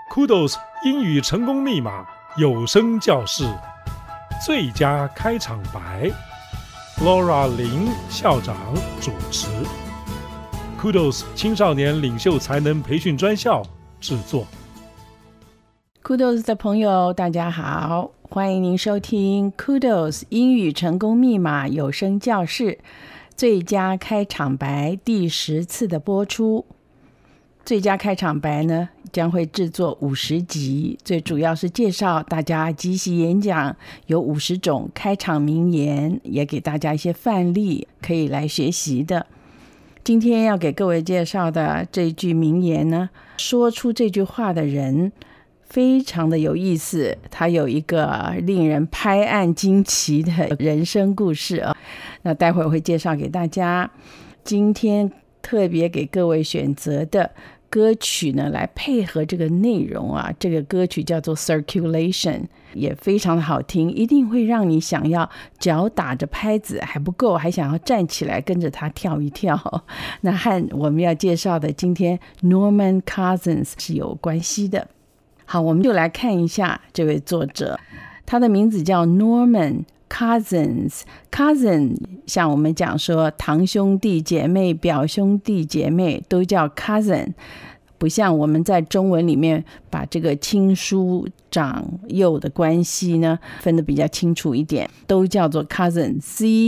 Kudos 英语成功密码有声教室最佳开场白 Laura 林校长主持， Kudos 青少年领袖才能培训专校制作。 Kudos 的朋友大家好，欢迎您收听 Kudos 英语成功密码有声教室最佳开场白第10次的播出。最佳开场白呢，将会制作50集，最主要是介绍大家即席演讲，有50种开场名言，也给大家一些范例可以来学习的。今天要给各位介绍的这句名言呢，说出这句话的人非常的有意思，他有一个令人拍案惊奇的人生故事啊。那待会儿会介绍给大家。今天特别给各位选择的歌曲呢，来配合这个内容啊。这个歌曲叫做 Circulation， 也非常的好听，一定会让你想要脚打着拍子还不够，还想要站起来跟着他跳一跳。那和我们要介绍的今天 Norman Cousins 是有关系的。好，我们就来看一下这位作者，他的名字叫 Norman Cousins。 Cousin 像我们讲说堂兄弟姐妹、表兄弟姐妹都叫 cousin， 不像我们在中文里面把这个亲疏长幼的关系呢分得比较清楚一点，都叫做 cousin，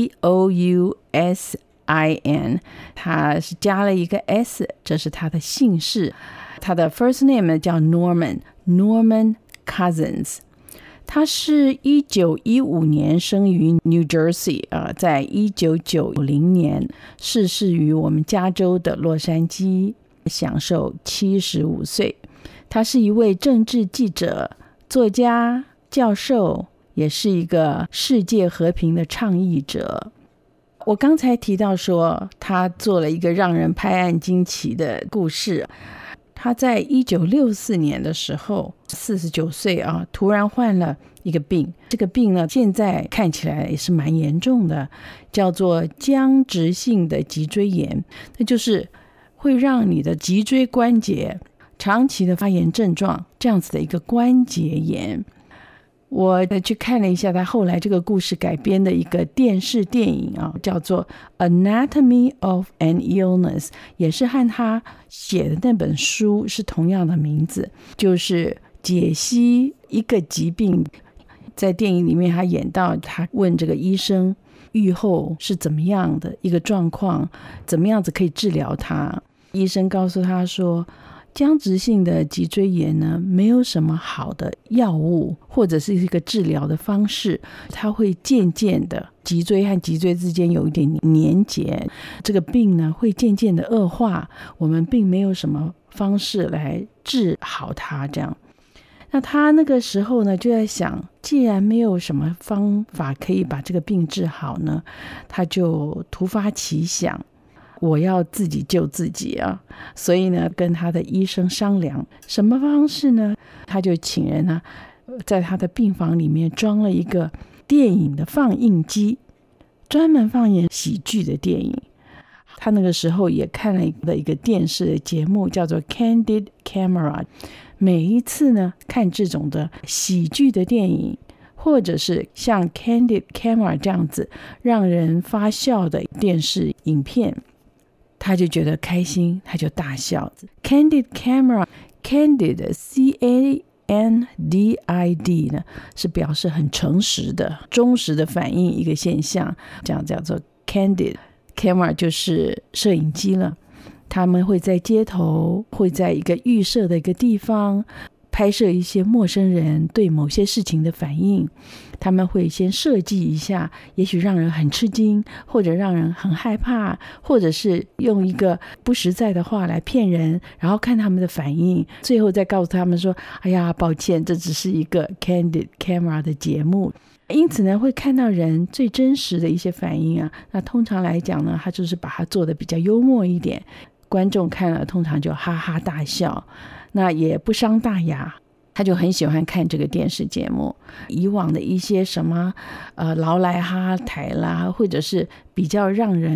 C-O-U-S-I-N， 他是加了一个 S， 这是他的姓氏。他的 first name 叫 Norman Cousins。他是1915年生于 New Jersey， 在1990年逝世于我们加州的洛杉矶，享受75岁。他是一位政治记者、作家、教授，也是一个世界和平的倡议者。我刚才提到说他做了一个让人拍案惊奇的故事。他在1964年的时候49岁啊，突然患了一个病。这个病呢，现在看起来也是蛮严重的，叫做僵直性的脊椎炎。那就是会让你的脊椎关节长期的发炎症状，这样子的一个关节炎。我去看了一下他后来这个故事改编的一个电视电影啊，叫做 Anatomy of an Illness， 也是和他写的那本书是同样的名字，就是解析一个疾病。在电影里面他演到，他问这个医生预后是怎么样的一个状况，怎么样子可以治疗它。医生告诉他说，僵直性的脊椎炎呢，没有什么好的药物或者是一个治疗的方式，它会渐渐的脊椎和脊椎之间有一点连结，这个病呢会渐渐的恶化，我们并没有什么方式来治好它这样。那他那个时候呢就在想，既然没有什么方法可以把这个病治好呢，他就突发奇想，我要自己救自己啊！所以呢，跟他的医生商量什么方式呢？他就请人呢，在他的病房里面装了一个电影的放映机，专门放映喜剧的电影。他那个时候也看了一个电视的节目，叫做 Candid Camera。每一次呢，看这种的喜剧的电影，或者是像 Candid Camera 这样子让人发笑的电视影片，他就觉得开心，他就大笑。 Candid Camera， Candid C-A-N-D-I-D 呢，是表示很诚实的、忠实的反映一个现象，这样叫做 Candid Camera， 就是摄影机了。他们会在街头，会在一个预设的一个地方拍摄一些陌生人对某些事情的反应。他们会先设计一下，也许让人很吃惊，或者让人很害怕，或者是用一个不实在的话来骗人，然后看他们的反应，最后再告诉他们说，哎呀，抱歉，这只是一个 Candid Camera 的节目。因此呢，会看到人最真实的一些反应啊。那通常来讲呢，他就是把它做得比较幽默一点，观众看了通常就哈哈大笑，那也不伤大雅。他就很喜欢看这个电视节目。以往的一些什么劳莱哈台啦，或者是比较让人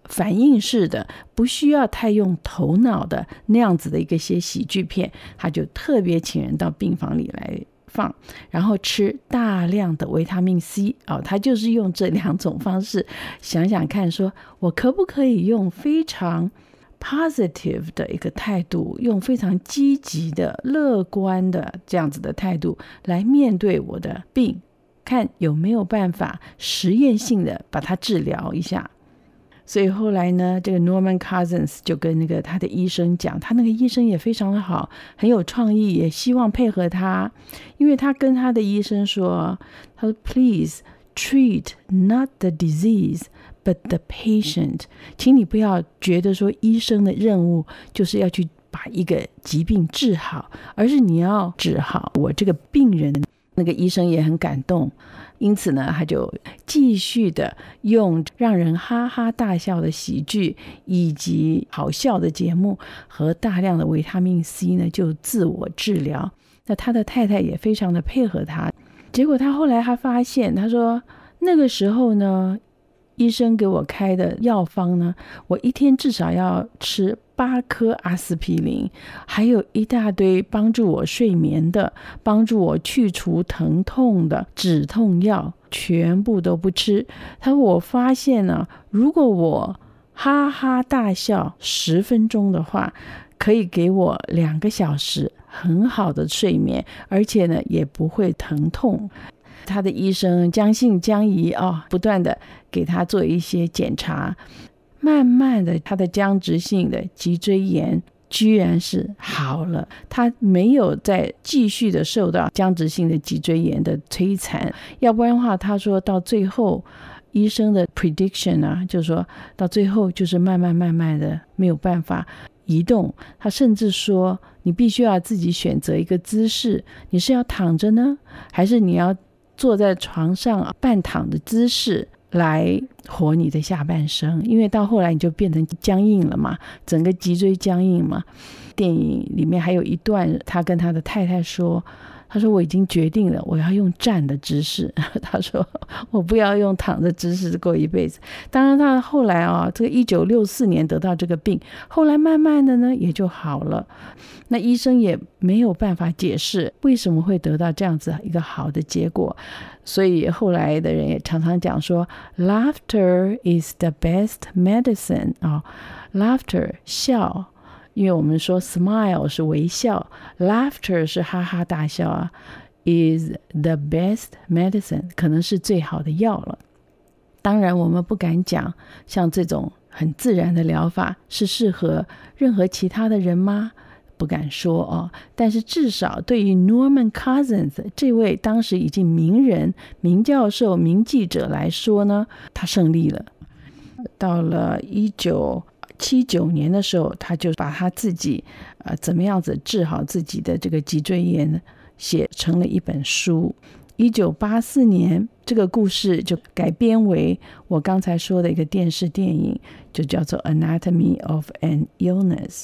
反应式的，不需要太用头脑的那样子的一些喜剧片，他就特别请人到病房里来放，然后吃大量的维他命 C 他就是用这2种方式，想想看说我可不可以用非常 positive 的一个态度，用非常积极的乐观的这样子的态度来面对我的病，看有没有办法实验性的把它治疗一下。所以后来呢，这个 Norman Cousins 就跟他的医生讲，他那个医生也非常的好，很有创意，也希望配合他，因为他跟他的医生说，他说 Please treat not the disease but the patient， 请你不要觉得说医生的任务就是要去把一个疾病治好，而是你要治好我这个病人。那个医生也很感动，因此呢，他就继续的用让人哈哈大笑的喜剧以及好笑的节目和大量的维他命 C 呢，就自我治疗。那他的太太也非常的配合他，结果他后来发现，他说那个时候呢，医生给我开的药方呢，我一天至少要吃8颗阿司匹林，还有一大堆帮助我睡眠的，帮助我去除疼痛的止痛药，全部都不吃。他说我发现呢，如果我哈哈大笑10分钟的话，可以给我2个小时很好的睡眠，而且呢也不会疼痛。他的医生将信将疑不断的给他做一些检查，慢慢的他的僵直性的脊椎炎居然是好了，他没有再继续的受到僵直性的脊椎炎的摧残，要不然的话，他说到最后医生的 prediction 就是说到最后就是慢慢的没有办法移动。他甚至说你必须要自己选择一个姿势，你是要躺着呢，还是你要坐在床上半躺的姿势来活你的下半生，因为到后来你就变成僵硬了嘛，整个脊椎僵硬嘛。电影里面还有一段，他跟他的太太说，他说我已经决定了，我要用站的姿势。他说我不要用躺的姿势过一辈子。当然他后来这个1964年得到这个病，后来慢慢的呢也就好了。那医生也没有办法解释为什么会得到这样子一个好的结果，所以后来的人也常常讲说 Laughter is the best medicine Laughter 笑，因为我们说 smile 是微笑， laughter 是哈哈大笑is the best medicine 可能是最好的药了。当然我们不敢讲像这种很自然的疗法是适合任何其他的人吗？不敢说但是至少对于 Norman Cousins 这位当时已经名人、名教授、名记者来说呢，他胜利了。到了1979年的时候，他就把他自己怎么样子治好自己的这个脊椎炎写成了一本书。1984年这个故事就改编为我刚才说的一个电视电影，就叫做 Anatomy of an Illness。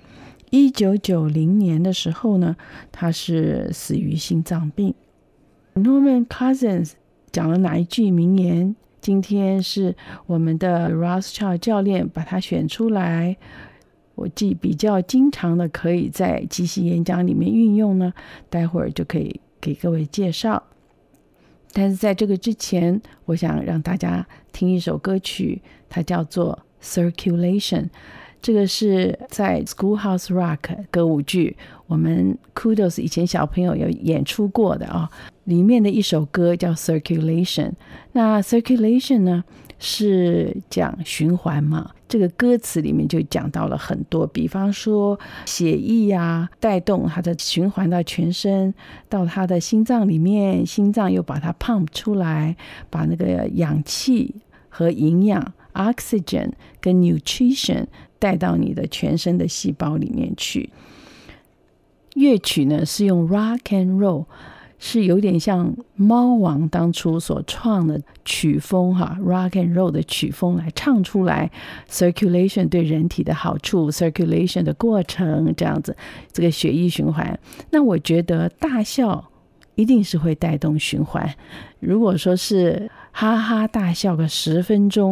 1990年的时候呢，他是死于心脏病。 Norman Cousins 讲了哪一句名言？今天是我们的 Rothschild 教练把它选出来，我比较经常的可以在即席演讲里面运用呢，待会儿就可以给各位介绍。但是在这个之前，我想让大家听一首歌曲，它叫做 Circulation。 这个是在 Schoolhouse Rock 歌舞剧，我们 Kudos 以前小朋友有演出过的里面的一首歌叫 Circulation。 那 Circulation 呢是讲循环嘛，这个歌词里面就讲到了很多，比方说血液带动它的循环到全身，到它的心脏里面，心脏又把它 pump 出来，把那个氧气和营养 oxygen 跟 nutrition 带到你的全身的细胞里面去。乐曲呢是用 rock and roll， 是有点像猫王当初所创的曲风rock and roll 的曲风来唱出来 circulation 对人体的好处， circulation 的过程，这样子这个血液循环。那我觉得大笑一定是会带动循环，如果说是哈哈大笑个10分钟，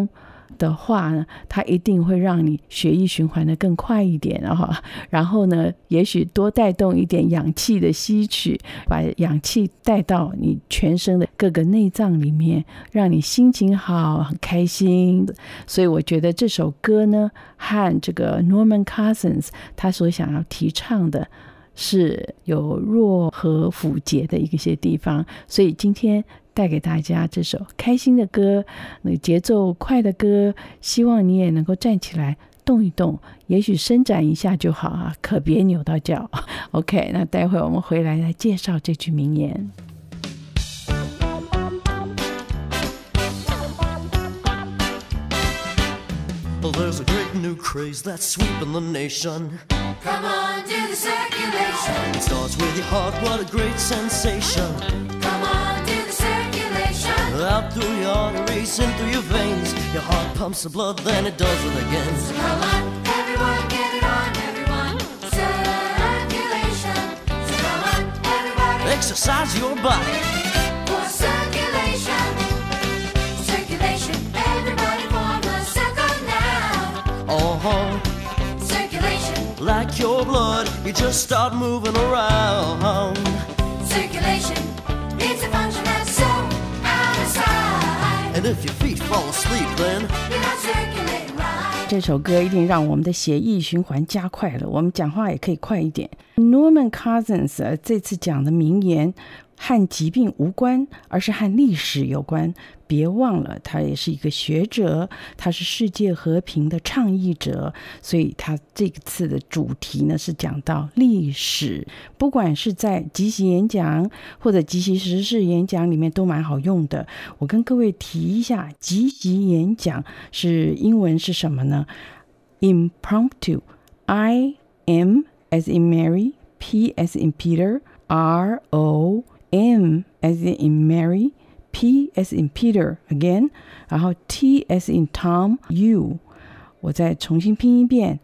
的话呢，它一定会让你血液循环的更快一点，然后呢，也许多带动一点氧气的吸取，把氧气带到你全身的各个内脏里面，让你心情好，很开心。所以我觉得这首歌呢，和这个 Norman Cousins 他所想要提倡的是有弱和辅节的一些地方，所以今天带给大家这首开心的歌，那个节奏快的歌，希望你也能够站起来动一动，也许伸展一下就好啊，可别扭到脚。OK， 那待会我们回来介绍这句名言。 Well, there's a great new craze that's sweeping the nation. Come on, do the circulation. It starts with your heart, what a great sensation. Come on, do the circulation. Out through your arteries, in through your veins. Your heart pumps the blood, then it does it again. So come on, everyone, get it on, everyone. Circulation. So come on, everybody. Exercise your body. For circulation. Circulation, everybody form a circle now. Oh, Circulation. like your blood, you just start moving around. Circulation needs a function that's so out of sight. And if your feet fall asleep, then You're not circulating right. 这首歌一定让我们的血液循环加快了，我们讲话也可以快一点。Norman Cousins 这次讲的名言和疾病无关，而是和历史有关。别忘了，他也是一个学者，他是世界和平的倡议者，所以他这次的主题呢是讲到历史，不管是在即席演讲或者即席时事演讲里面都蛮好用的。我跟各位提一下，即席演讲是英文是什么呢？ Impromptu， I-M as in Mary, P as in Peter, R-O-M as in Mary, P as in Peter again， 然后 T as in Tom, U。 我再重新拼一遍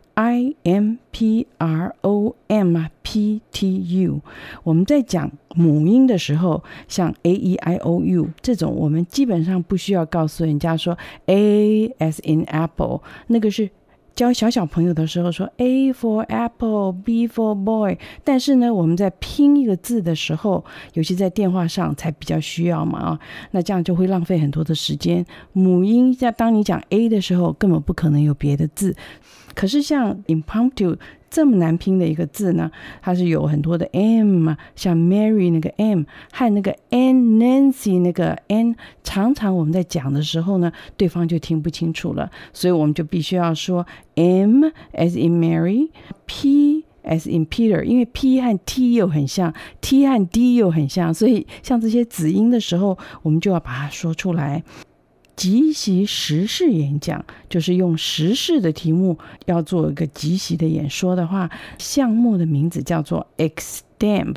I-M-P-R-O-M-P-T-U。 我们在讲母音的时候，像 A-E-I-O-U 这种，我们基本上不需要告诉人家说 A as in Apple， 那个是教小朋友的时候说 A for apple, B for boy， 但是呢我们在拼一个字的时候，尤其在电话上才比较需要嘛，那这样就会浪费很多的时间。母音当你讲 A 的时候根本不可能有别的字，可是像 impromptu 这么难拼的一个字呢，它是有很多的 M， 像 Mary 那个 M 和那个 N Nancy 那个 N， 常常我们在讲的时候呢，对方就听不清楚了，所以我们就必须要说 M as in Mary， P as in Peter， 因为 P 和 T 又很像， T 和 D 又很像，所以像这些子音的时候，我们就要把它说出来。即席时事演讲就是用时事的题目要做一个即席的演说的话，项目的名字叫做 EXTEMP，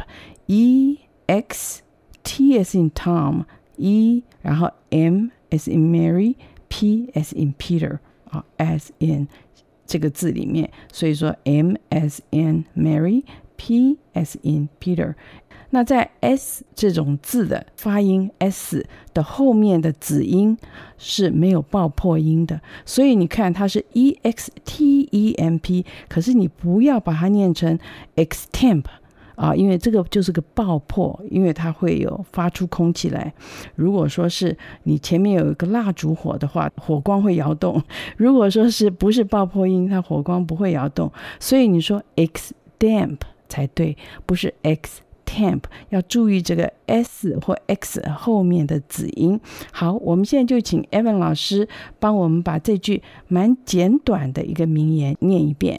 E-X-T as in Tom， E 然后 M as in Mary， P as in Peter， as in 这个字里面，所以说 M as in Mary， P as in Peter。那在 S 这种字的发音 S 的后面的子音是没有爆破音的，所以你看它是 EXTEMP， 可是你不要把它念成 EXTEMP，因为这个就是个爆破，因为它会有发出空气来。如果说是你前面有一个蜡烛火的话，火光会摇动，如果说是不是爆破音，它火光不会摇动，所以你说 EXTEMP 才对，不是 EXTEMP， 要注意这个 S 或 X 后面的子音。好，我们现在就请 Evan 老师帮我们把这句蛮简短的一个名言念一遍。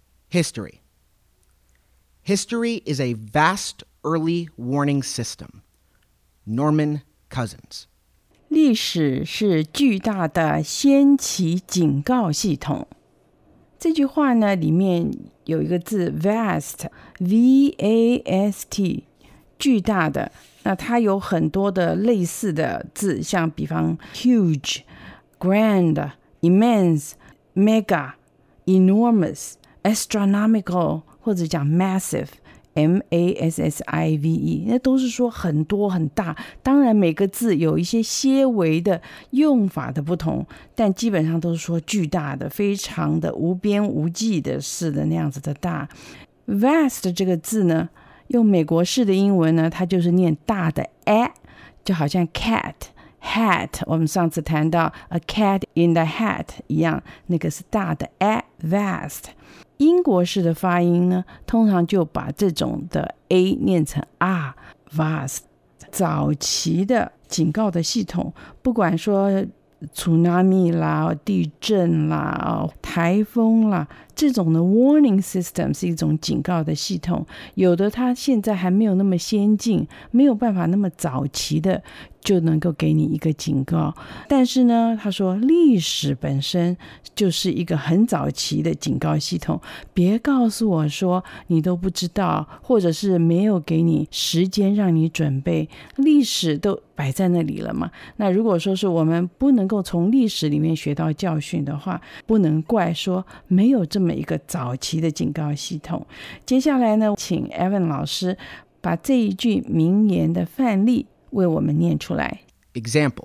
History is a vast early warning system. Norman Cousins。 历史是巨大的先期警告系统。这句话呢，里面有一个字 vast， V-A-S-T， 巨大的。那它有很多的类似的字，像比方 huge, grand, immense, mega, enormous, astronomical， 或者讲 massive, massive， 那都是说很多很大，当然每个字有一些些微的用法的不同，但基本上都是说巨大的，非常的无边无际的似的那样子的大。 vast 这个字呢，用美国式的英文呢，它就是念大的 a， 就好像 cat hat， 我们上次谈到 a cat in the hat 一样，那个是大的 a vast。 英国式的发音呢，通常就把这种的 a 念成 r vast。 早期的警告的系统，不管说 tsunami 啦、地震啦、台风啦，这种的 warning system 是一种警告的系统，有的它现在还没有那么先进，没有办法那么早期的就能够给你一个警告。但是呢，他说历史本身就是一个很早期的警告系统，别告诉我说你都不知道，或者是没有给你时间让你准备，历史都摆在那里了嘛。那如果说是我们不能够从历史里面学到教训的话，不能怪说没有这么一个早期的警告系统。接下来呢，请 Evan 老师把这一句名言的范例为我们念出来。 Example: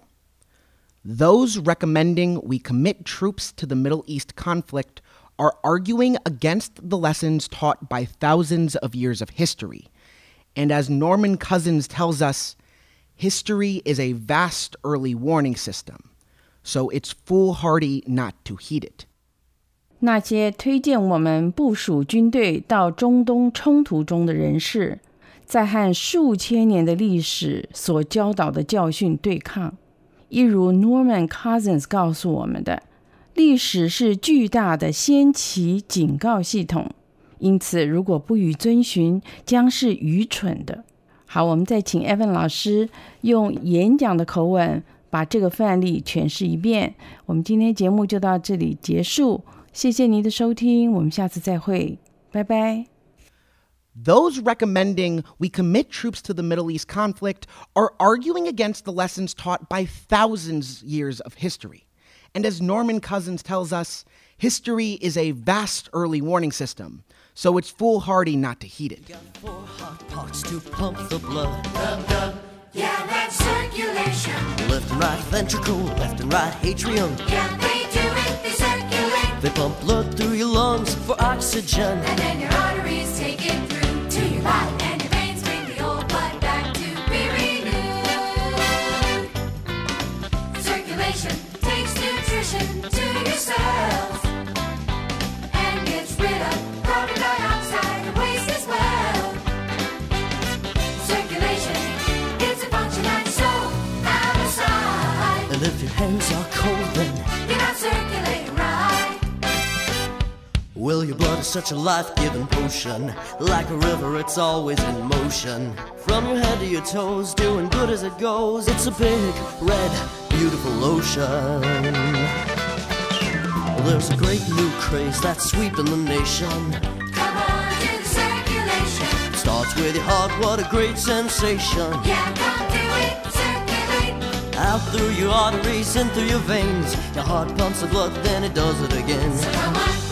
Those recommending we commit troops to the Middle East conflict are arguing against the lessons taught by thousands of years of history. And as Norman Cousins tells us, history is a vast early warning system, so it's foolhardy not to heed it. 那些推荐我们部署军队到中东冲突中的人士，在和数千年的历史所教导的教训对抗，一如 Norman Cousins 告诉我们的，历史是巨大的先期警告系统，因此如果不予遵循，将是愚蠢的。好，我们再请 Evan 老师用演讲的口吻把这个范例诠释一遍。我们今天节目就到这里结束，谢谢您的收听，我们下次再会，拜拜。 Those recommending we commit troops to the Middle East conflict are arguing against the lessons taught by thousands of years of history. And as Norman Cousins tells us, history is a vast early warning system, so it's foolhardy not to heed it. 4 hot pots to pump the blood. Yeah, that's circulation. Left and right ventricle, left and right atrium. Yeah, they do it, they circulate. They pump blood through your lungs for oxygen. And then your arteries take it through to your body. And your veins bring the old blood back to be renewed. Circulation takes nutrition to your cells. And gets rid of carbon dioxide and waste as well. Circulation is a function that's so out of sight. And if your hands are cold, then You're not circulating right. well, your blood is such a life-giving potion. Like a river, it's always in motion. From your head to your toes, doing good as it goes. It's a big, red, beautiful ocean. Well, there's a great new craze that's sweeping the nation. Come on to the circulation. Starts with your heart, what a great sensation. Yeah, come do it, circulate. Out through your arteries and through your veins. Your heart pumps the blood, then it does it again. Come on.